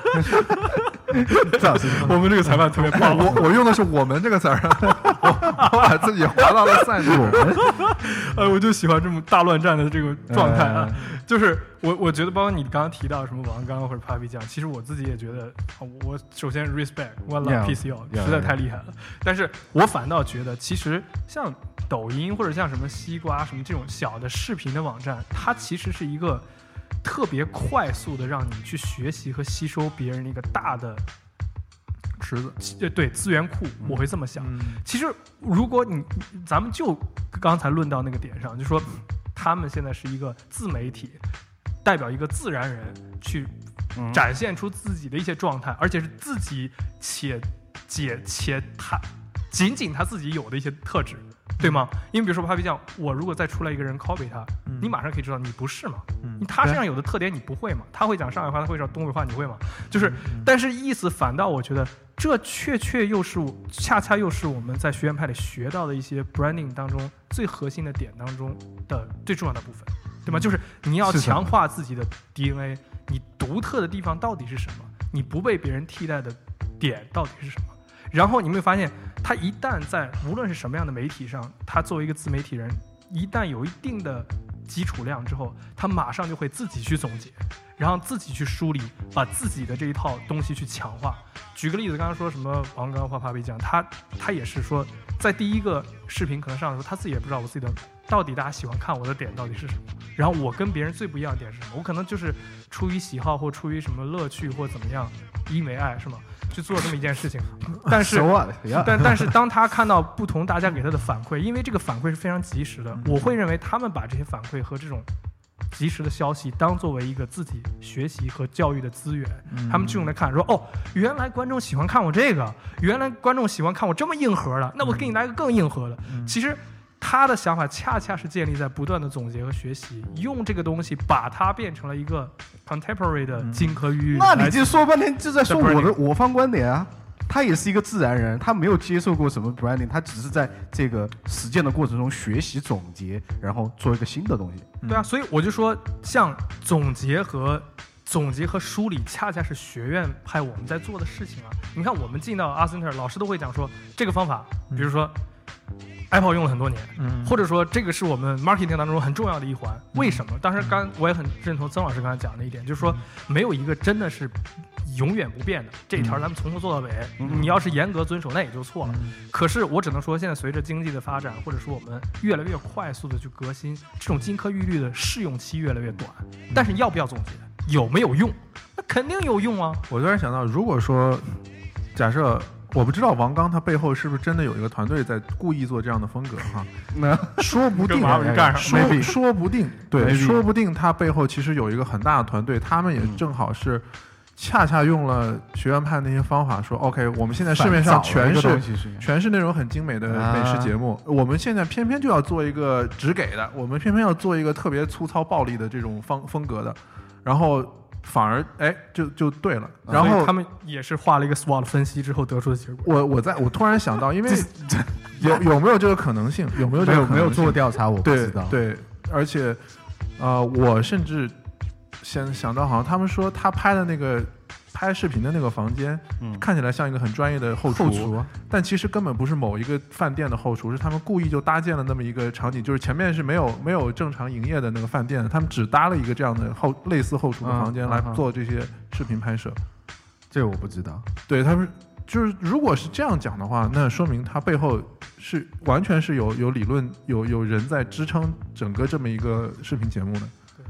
Speaker 5: 赵老师，
Speaker 1: 我们这个裁判特别棒。
Speaker 6: 我我用的是我们这个词儿，我我把自己划到了赛路。
Speaker 1: 呃，我就喜欢这么大乱战的这个状态啊。就是我我觉得，包括你刚刚提到什么王刚或者 Papi 酱，其实我自己也觉得，我首先 respect One Love P C O 实在太厉害了。但是我反倒觉得，其实像抖音或者像什么西瓜什么这种小的视频的网站，它其实是一个特别快速的让你去学习和吸收别人的一个大的
Speaker 6: 池子，
Speaker 1: 对资源库，我会这么想。
Speaker 6: 嗯、
Speaker 1: 其实如果你咱们就刚才论到那个点上，就说他们现在是一个自媒体，代表一个自然人去展现出自己的一些状态，而且是自己且且且他仅仅他自己有的一些特质。对吗？因为比如说 Papi 酱，我如果再出来一个人 copy 他，嗯、你马上可以知道你不是嘛。嗯、他身上有的特点你不会嘛？他会讲上海话，他会讲东北话，你会吗？就是，嗯、但是意思反倒我觉得这确确又是我恰恰又是我们在学院派里学到的一些 branding 当中最核心的点当中的最重要的部分，对吗？就是你要强化自己的 D N A， 你独特的地方到底是什么？你不被别人替代的点到底是什么？然后你会发现，他一旦在无论是什么样的媒体上，他作为一个自媒体人，一旦有一定的基础量之后，他马上就会自己去总结，然后自己去梳理，把自己的这一套东西去强化。举个例子，刚刚说什么王刚或 Papi 酱，他他也是说，在第一个视频可能上的时候，他自己也不知道我自己的到底大家喜欢看我的点到底是什么。然后我跟别人最不一样的点是什么？我可能就是出于喜好或出于什么乐趣或怎么样，因为爱是吗？去做这么一件事情，但是但但是当他看到不同大家给他的反馈，因为这个反馈是非常及时的，我会认为他们把这些反馈和这种及时的消息当作为一个自己学习和教育的资源，他们去用来看，说哦，原来观众喜欢看我这个，原来观众喜欢看我这么硬核的，那我给你来个更硬核的。其实他的想法恰恰是建立在不断的总结和学习，用这个东西把它变成了一个 contemporary 的金科玉律。
Speaker 5: 那你就说半天就在说我的我方观点啊。他也是一个自然人，他没有接受过什么 branding， 他只是在这个实践的过程中学习总结，然后做一个新的东西。
Speaker 1: 对啊，所以我就说，像总结和总结和梳理，恰恰是学院派我们在做的事情啊。你看，我们进到阿森特，老师都会讲说这个方法，比如说。Apple 用了很多年，嗯，或者说这个是我们 marketing 当中很重要的一环。为什么？当时刚我也很认同曾老师刚才讲的一点，就是说没有一个真的是永远不变的，这一条咱们从头做到尾。嗯、你要是严格遵守，那也就错了。嗯、可是我只能说，现在随着经济的发展，或者说我们越来越快速的去革新，这种金科玉律的试用期越来越短。但是要不要总结？有没有用？那肯定有用啊！
Speaker 6: 我突然想到，如果说假设。我不知道王刚他背后是不是真的有一个团队在故意做这样的风格哈？那说不定，说说不定，对，说不定他背后其实有一个很大的团队，他们也正好是恰恰用了学院派那些方法，说 OK， 我们现在市面上全是全是那种很精美的美食节目，我们现在偏偏就要做一个只给的，我们偏偏要做一个特别粗糙暴力的这种风风格的，然后。反而哎，就就对了。然后
Speaker 1: 他们也是画了一个 S W O T 分析之后得出的结果。
Speaker 6: 我我在我突然想到，因为有有没有这个可能性？有没有这个可能性？
Speaker 5: 没有做调查，我不知道。
Speaker 6: 对，对而且呃，我甚至想想到，好像他们说他拍的那个拍视频的那个房间，嗯、看起来像一个很专业的后厨，
Speaker 5: 后厨
Speaker 6: 但其实根本不是某一个饭店的后厨，是他们故意就搭建了那么一个场景，就是前面是没有没有正常营业的那个饭店，他们只搭了一个这样的后类似后厨的房间来做这些视频拍摄。嗯嗯嗯、
Speaker 5: 这个我不知道。
Speaker 6: 对他们就是如果是这样讲的话，那说明他背后是完全是有有理论有有人在支撑整个这么一个视频节目的。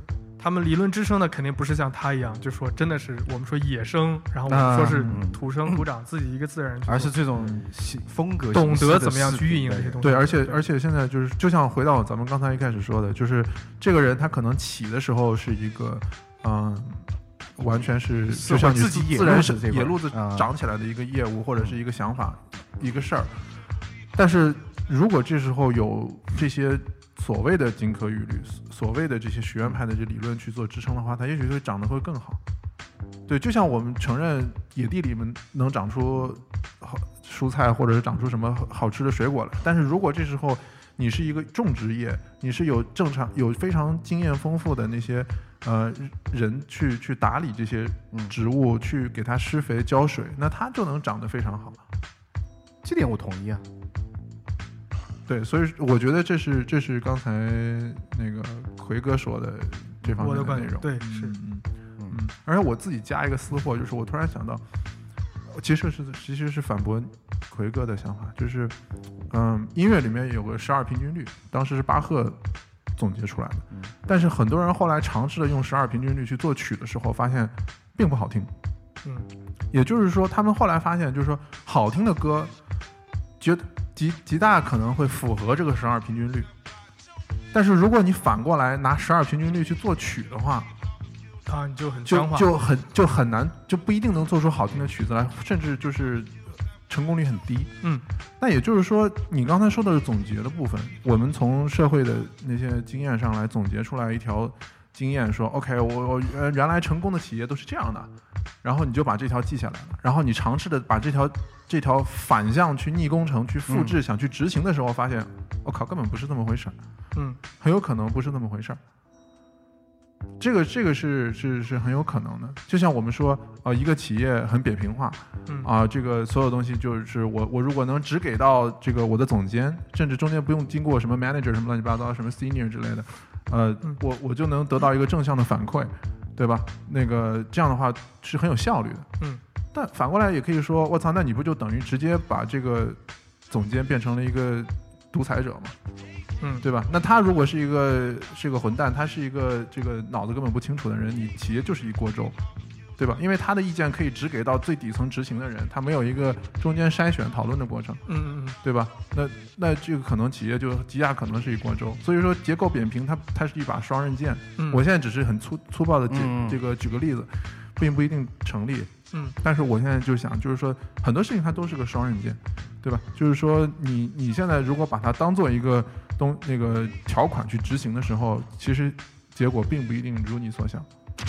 Speaker 1: 他们理论支撑的肯定不是像他一样，就说真的是我们说野生，然后我们说是土生土长、嗯、自己一个自然人，
Speaker 5: 而是这种风格
Speaker 1: 懂得怎么样去运营这些东西。
Speaker 6: 对，而且而且现在就是就像回到咱们刚才一开始说的，就是这个人他可能起的时候是一个嗯。完全是就像你
Speaker 5: 自己
Speaker 6: 自然是野路子长起来的一个业务、嗯、或者是一个想法、嗯、一个事儿，但是如果这时候有这些所谓的金科玉律，所谓的这些学院派的这理论去做支撑的话，它也许会长得会更好。对，就像我们承认野地里面能长出好蔬菜或者是长出什么好吃的水果来，但是如果这时候你是一个种植业，你是有正常有非常经验丰富的那些呃人去去打理这些植物、嗯、去给它施肥浇水，那它就能长得非常好。
Speaker 5: 这点我同意啊。
Speaker 6: 对，所以我觉得这是这是刚才那个奎哥说的这方面的内容。
Speaker 1: 对，是
Speaker 6: 嗯嗯嗯。而且我自己加一个私货，就是我突然想到，其实是其实是反驳奎哥的想法，就是嗯，音乐里面有个十二平均律，当时是巴赫总结出来的，嗯、但是很多人后来尝试着用十二平均律去作曲的时候，发现并不好听。
Speaker 1: 嗯，
Speaker 6: 也就是说，他们后来发现，就是说好听的歌，觉得极极大可能会符合这个十二平均律，但是如果你反过来拿十二平均律去作曲的话，
Speaker 1: 啊，你就很
Speaker 6: 就就很就很难，就不一定能做出好听的曲子来，甚至就是成功率很低。
Speaker 1: 嗯，
Speaker 6: 那也就是说，你刚才说的是总结的部分，我们从社会的那些经验上来总结出来一条经验，说 OK， 我我原来成功的企业都是这样的，然后你就把这条记下来了，然后你尝试的把这条这条反向去逆工程去复制、嗯、想去执行的时候，发现我靠，根本不是这么回事儿。
Speaker 1: 嗯，
Speaker 6: 很有可能不是那么回事儿。这个这个是是是很有可能的，就像我们说，呃，一个企业很扁平化，
Speaker 1: 嗯
Speaker 6: 啊、呃，这个所有东西就是我我如果能只给到这个我的总监，甚至中间不用经过什么 manager 什么乱七八糟什么 senior 之类的，呃，
Speaker 1: 嗯、
Speaker 6: 我我就能得到一个正向的反馈，对吧？那个这样的话是很有效率的。
Speaker 1: 嗯，
Speaker 6: 但反过来也可以说，我操，那你不就等于直接把这个总监变成了一个独裁者吗？
Speaker 1: 嗯，
Speaker 6: 对吧？那他如果是一个是一个混蛋，他是一个这个脑子根本不清楚的人，你企业就是一锅粥，对吧？因为他的意见可以只给到最底层执行的人，他没有一个中间筛选讨论的过程，
Speaker 1: 嗯嗯嗯，
Speaker 6: 对吧？那那这个可能企业就极大可能是一锅粥。所以说结构扁平它，它它是一把双刃剑。
Speaker 1: 嗯，
Speaker 6: 我现在只是很粗粗暴的举、
Speaker 5: 嗯、
Speaker 6: 这个举个例子，并不一定成立。
Speaker 1: 嗯，
Speaker 6: 但是我现在就想，就是说很多事情它都是个双刃剑，对吧？就是说你你现在如果把它当做一个东那个条款去执行的时候，其实结果并不一定如你所想。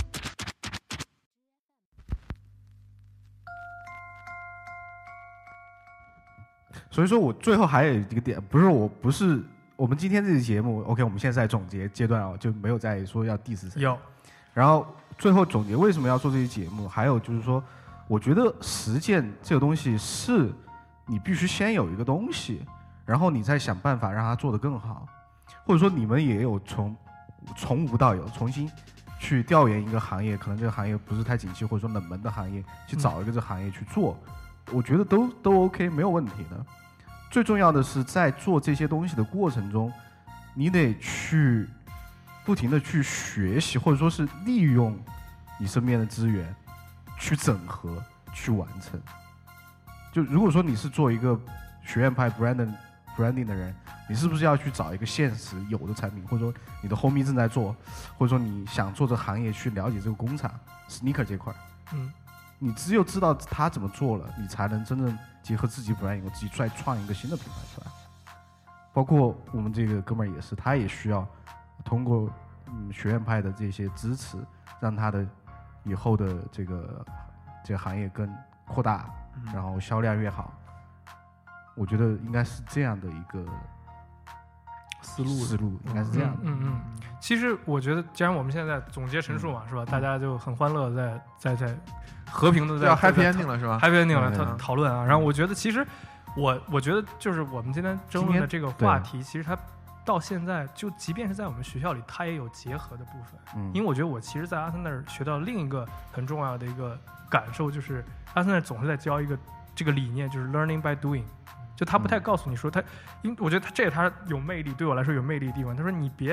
Speaker 5: 所以说我最后还有一个点，不是我不是我们今天这期节目 ，OK， 我们现在在总结阶段哦，就没有在说要 diss 谁。
Speaker 1: 有，
Speaker 5: 然后最后总结为什么要做这期节目，还有就是说，我觉得实践这个东西是你必须先有一个东西，然后你再想办法让它做得更好，或者说你们也有从从无到有重新去调研一个行业，可能这个行业不是太景气或者说冷门的行业，去找一个这个行业去做，嗯、我觉得都都 OK 没有问题的。最重要的是在做这些东西的过程中，你得去不停的去学习，或者说是利用你身边的资源去整合去完成。就如果说你是做一个学院派 branding branding 的人，你是不是要去找一个现实有的产品，或者说你的 homie 正在做，或者说你想做这行业去了解这个工厂 sneaker 这块，
Speaker 1: 嗯，
Speaker 5: 你只有知道他怎么做了，你才能真正结合自己 branding， 我自己再创一个新的品牌出来。包括我们这个哥们儿也是，他也需要通过嗯学院派的这些支持，让他的以后的这个这个行业更扩大，然后销量越好。我觉得应该是这样的一个
Speaker 1: 思路，
Speaker 5: 思路应该是这样的。
Speaker 1: 嗯 嗯, 嗯，其实我觉得，既然我们现在在总结陈述嘛，嗯、是吧？大家就很欢乐在，在在在和平的在
Speaker 6: 要 happy ending 了，是吧
Speaker 1: ？happy ending 了，讨讨论啊。然后我觉得，其实我我觉得就是我们今天争论的这个话题，其实它到现在就即便是在我们学校里，它也有结合的部分。嗯，因为我觉得我其实，在阿森那儿学到另一个很重要的一个感受，就是阿森那儿总是在教一个这个理念，就是 learning by doing。就他不太告诉你说他，因为我觉得他这个他有魅力，对我来说有魅力的地方。他说你别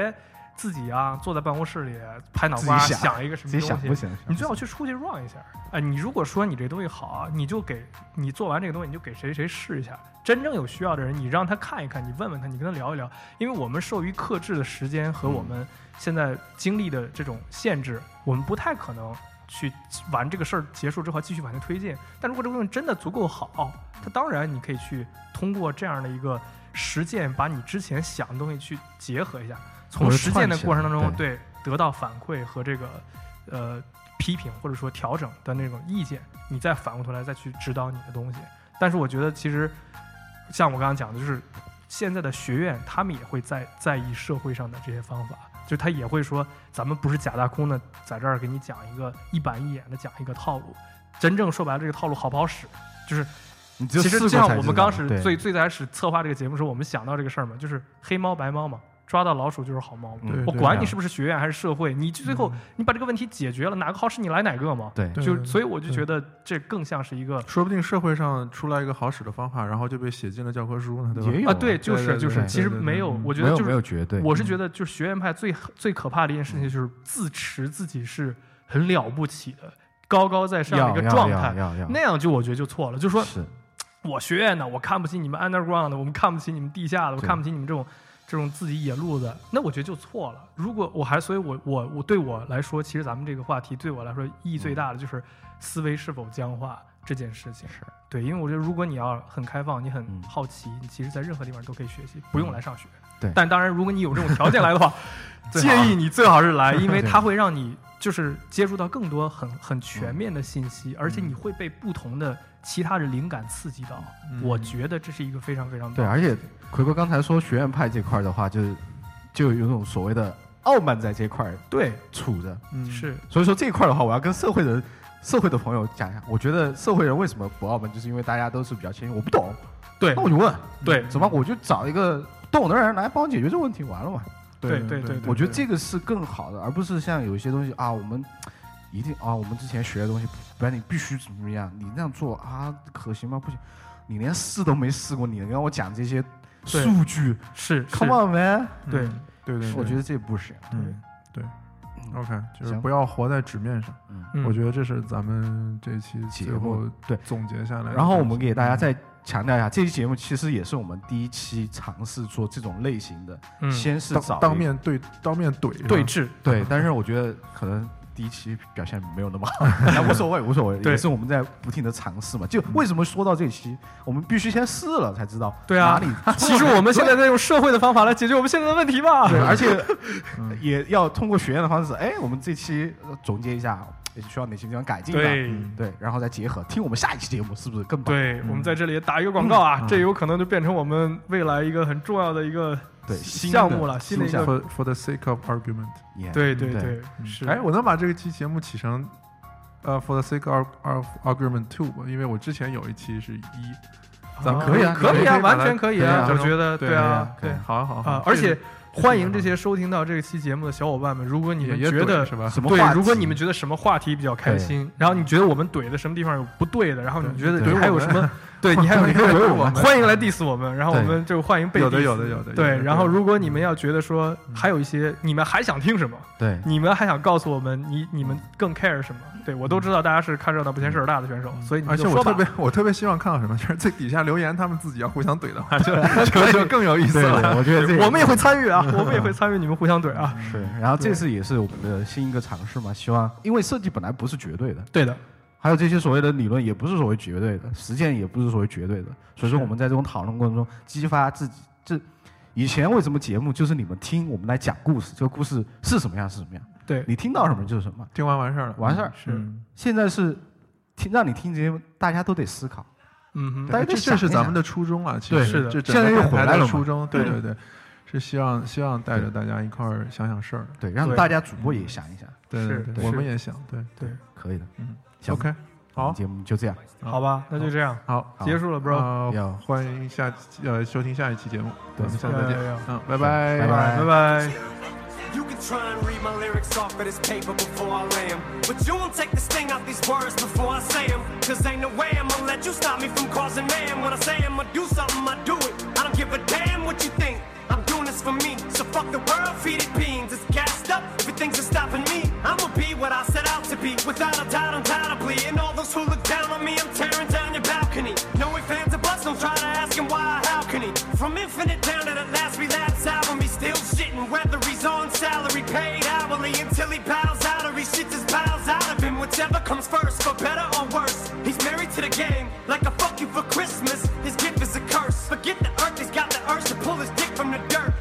Speaker 1: 自己啊坐在办公室里拍脑瓜
Speaker 5: 想,
Speaker 1: 想一个什么东西，
Speaker 5: 自己想不行，
Speaker 1: 你最好去出去 run 一下。哎、呃，你如果说你这东西好啊，你就给你做完这个东西，你就给谁谁试一下。真正有需要的人，你让他看一看，你问问他，你跟他聊一聊。因为我们受于克制的时间和我们现在经历的这种限制，我们不太可能去玩这个事儿结束之后继续往前推进。但如果这个东西真的足够好，它当然你可以去通过这样的一个实践，把你之前想的东西去结合一下，从实践的过程当中，对得到反馈和这个呃批评或者说调整的那种意见，你再反过头来再去指导你的东西。但是我觉得其实像我刚刚讲的，就是现在的学院他们也会在在意社会上的这些方法，就是他也会说咱们不是假大空的在这儿给你讲一个一板一眼的讲一个套路，真正说白了这个套路好不好使，就是
Speaker 5: 你其
Speaker 1: 实就像我们刚始最最开始策划这个节目的时候，我们想到这个事儿嘛，就是黑猫白猫嘛，抓到老鼠就是好猫嘛。
Speaker 6: 嗯、
Speaker 1: 我管你是不是学院还是社会，你最后、嗯、你把这个问题解决了，哪个好使你来哪个嘛。
Speaker 5: 对，
Speaker 1: 就所以我就觉得这更像是一个，
Speaker 6: 说不定社会上出来一个好使的方法，然后就被写进了教科书呢，对吧？
Speaker 5: 也有
Speaker 1: 啊，对，就是就是，其实没有，我觉得就是
Speaker 5: 没有绝对。
Speaker 1: 我是觉得就是学院派最最可怕的一件事情就是自持自己是很了不起的、高高在上的一个状态，那样就我觉得就错了，就是说。
Speaker 5: 是
Speaker 1: 我学院的，我看不起你们 underground 的，我们看不起你们地下的，我看不起你们这种这种自己野路子，那我觉得就错了。如果我还，所以我我我对我来说，其实咱们这个话题对我来说意义最大的就是思维是否僵化这件事情。
Speaker 5: 是
Speaker 1: 对，因为我觉得如果你要很开放，你很好奇，你其实在任何地方都可以学习，不用来上学。
Speaker 5: 对，
Speaker 1: 但当然，如果你有这种条件来的话，建议你最好是来，因为它会让你就是接触到更多很很全面的信息，而且你会被不同的其他的灵感刺激到、嗯、我觉得这是一个非常非常棒的。
Speaker 5: 对，而且奎哥刚才说学院派这块的话，就是就有种所谓的傲慢在这块
Speaker 1: 对
Speaker 5: 处着、
Speaker 1: 嗯、是，
Speaker 5: 所以说这一块的话，我要跟社会人社会的朋友讲一下，我觉得社会人为什么不傲慢，就是因为大家都是比较谦虚，我不懂，
Speaker 1: 对，
Speaker 5: 那我就问，
Speaker 1: 对，
Speaker 5: 怎么我就找一个懂的人来帮我解决这个问题，完了嘛。
Speaker 1: 对对 对, 对，
Speaker 5: 我觉得这个是更好的，而不是像有一些东西啊，我们一定啊，我们之前学的东西，不然你必须怎么样，你那样做啊，可行吗？不行，你连试都没试过，你跟我讲这些数据，
Speaker 1: 是
Speaker 5: ，Come on man，
Speaker 1: 对
Speaker 6: 对对，
Speaker 5: 我觉得这不行，
Speaker 6: 嗯对 ，OK， 就是不要活在纸面上，
Speaker 5: 嗯，
Speaker 6: 我觉得这是咱们这期
Speaker 5: 节目对
Speaker 6: 总结下来，
Speaker 5: 然后我们给大家再强调一下，这期节目其实也是我们第一期尝试做这种类型的，嗯、先是找
Speaker 6: 当面对当面怼
Speaker 1: 对峙，
Speaker 5: 对，但是我觉得可能第一期表现没有那么好，那无所谓无所谓，也是我们在不停的尝试嘛。就为什么说到这期，我们必须先试了才知道
Speaker 1: 对啊
Speaker 5: 哪里。
Speaker 1: 其实我们现在在用社会的方法来解决我们现在的问题吧，
Speaker 5: 对，而且也要通过学院的方式，哎，我们这期总结一下。也需要哪些地方改进的？
Speaker 1: 对、
Speaker 5: 嗯、对，然后再结合听我们下一期节目，是不是更棒？
Speaker 1: 对、嗯、我们在这里打一个广告啊、嗯，这有可能就变成我们未来一个很重要的一个
Speaker 5: 对
Speaker 1: 项目了，新的一个
Speaker 6: for for the sake of argument。
Speaker 1: 对对对，
Speaker 6: 对是。哎，我能把这个期节目起成呃 for the sake of, of argument two 吧？因为我之前有一期是一。咱们
Speaker 5: 可以啊，
Speaker 1: 可以啊，完全
Speaker 6: 可
Speaker 1: 以啊，我觉得对啊，
Speaker 6: 对，好好好
Speaker 1: 啊，而且欢迎这些收听到这个期节目的小伙伴们，如果你们觉得
Speaker 6: 是吧？
Speaker 1: 对，如果你们觉得什么话题比较开心，然后你觉得我们怼的什么地方有不对的，然后你觉得你还有什么，对你还有一个怼我们，欢迎来 diss 我们，然后我们就欢迎被 diss。
Speaker 6: 有的有的有的。
Speaker 1: 对，然后如果你们要觉得说还有一些你们还想听什么，
Speaker 5: 对，
Speaker 1: 你们还想告诉我们你你们更 care 什么？对，我都知道大家是看热闹不嫌事儿大的选手，所以你
Speaker 6: 而且我特别我特别希望看到什么，就是在底下留言，他们自己要互相怼的话，就就就更有意思了。
Speaker 5: 我觉得
Speaker 1: 我们也会参与啊，我们也会参与你们互相怼啊。
Speaker 5: 是，然后这次也是我们的新一个尝试嘛，希望因为设计本来不是绝对的，
Speaker 1: 对的，
Speaker 5: 还有这些所谓的理论也不是所谓绝对的，实践也不是所谓绝对的，所以说我们在这种讨论过程中激发自己。这以前为什么节目就是你们听我们来讲故事，这个故事是什么样是什么样。
Speaker 1: 对，
Speaker 5: 你听到什么就是什么，
Speaker 6: 听完完事儿了，
Speaker 5: 完事儿
Speaker 1: 是。
Speaker 5: 现在是听让你听节目，大家都得思考。
Speaker 1: 嗯哼，
Speaker 6: 大家这这是咱们的初衷啊，其实
Speaker 1: 是的，
Speaker 6: 这
Speaker 5: 现在又回来了。
Speaker 6: 初衷，对对对，是希望希望带着大家一块儿想想事儿，
Speaker 5: 对，让大家主播也想一想，
Speaker 6: 对对对，我们也想，对
Speaker 1: 对，
Speaker 5: 可以的，
Speaker 6: 嗯 ，OK， 好，
Speaker 5: 节目就这样，
Speaker 1: 好吧，那就这样，
Speaker 6: 好，
Speaker 1: 结束了 ，bro，
Speaker 6: 欢迎下呃收听下一期节目，我们下次再见，嗯，拜
Speaker 5: 拜，
Speaker 6: 拜
Speaker 5: 拜
Speaker 1: 拜拜。
Speaker 4: You can try and read my lyrics off of this paper before I lay them, but you won't take the sting out these words before I say them. Cause ain't no way I'm gonna let you stop me from causing man. When I say I'm gonna do something, I do it. I don't give a damn what you think. I'm doing this for me, so fuck the world, feed it beans. It's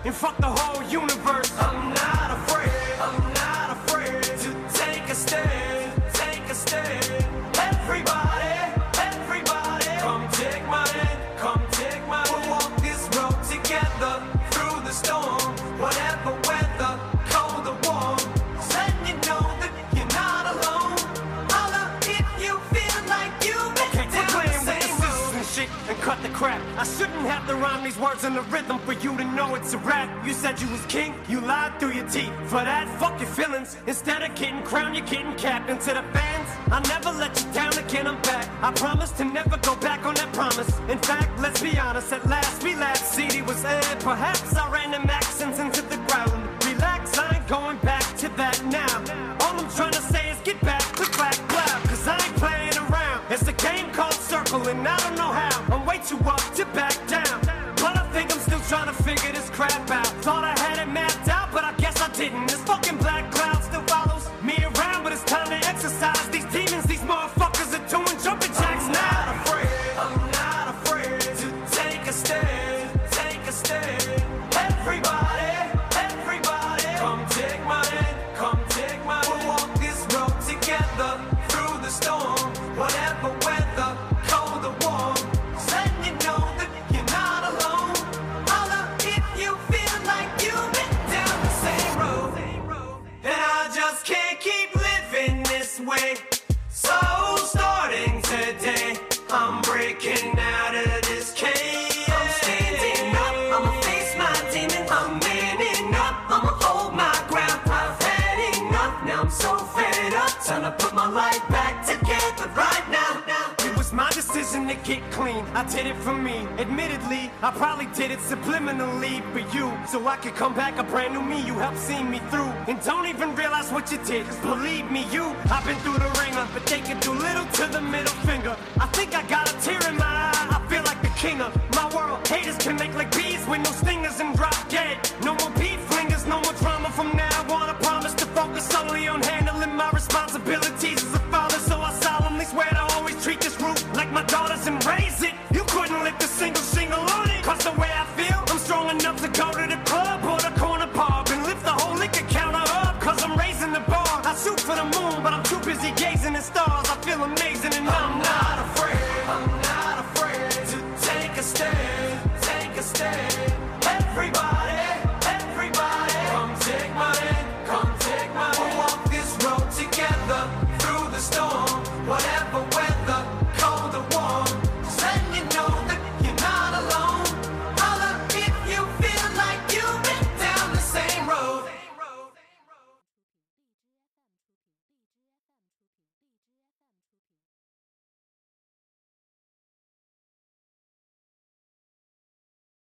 Speaker 4: and fuck the whole universe. I'm not afraid, I'm not afraid to take a stand, take a stand. Everybody, everybody, come take my hand, come take my hand. We'll walk this road together through the storm, whatever weather, cold or warm. Just letting you know that you're not alone. Holla if you feel like you've been okay, down the same road. And shit and cut the crap. I shouldn't have to rhyme these words in the rhythm for you to know it's a rap. You said you was king, you lied through your teeth. For that, fuck your feelings. Instead of getting crowned, you're getting capped. And to the fans, I never let you down again, I'm back. I promise to never go back on that promise. In fact, let's be honest, at last we laughed. C D was aired, perhaps I ran them accents into the ground. Relax, I ain't going back to that now. All I'm trying to say is get back, click back, loud. Cause I ain't playing around. It's a game called Circle and I don't know how. I'm way too up to back down. But I think I'm still trying to figure this crap out. Thought I had it mapped out, but I guess I didn't. This fucking black cloud still follows me around, but it's time to exercise these demons. These motherfuckers are doing jumping jacks now. I'm not afraid, I'm not afraid to take a stand, take a stand. Everybody, everybody, come take my hand, come take my hand. We'll walk this road together through the storm, whatever weather, cold or warm. Just letting you know that you're not alone. Holla if you feel like you've been down the same road. And I just can't keep living this way. So starting today, I'm breaking out of this cage. I'm standing up, I'ma face my demons. I'm manning up, I'ma hold my ground. I've had enough, now I'm so fed up. Time to put my life back together right now. It was my decision to get clean, I did it for me. Admittedly, I probably did it subliminally for you, so I could come back a brand new me. You helped see me through, and don't even realize what you did. Cause believe me, you, I've been through the ringer, but they can do little to the middle finger. I think I got a tear in my eye, I feel like the king of my world. Haters can make like bees with no stingers and drop dead. No more beef flingers, no more drama from now on. I promise to focus solely on handling my responsibilities as a father. So I solemnly swear to always treat this roof like my daughters and raise it. You couldn't lift a single shingle on it. Cause the way I feel, I'm strong enough to go to the club or the corner pub and lift the whole liquor counter up. Cause I'm raising the bar. I shoot for the moon, but I'm too busy gazing at stars. I feel amazing and I'm not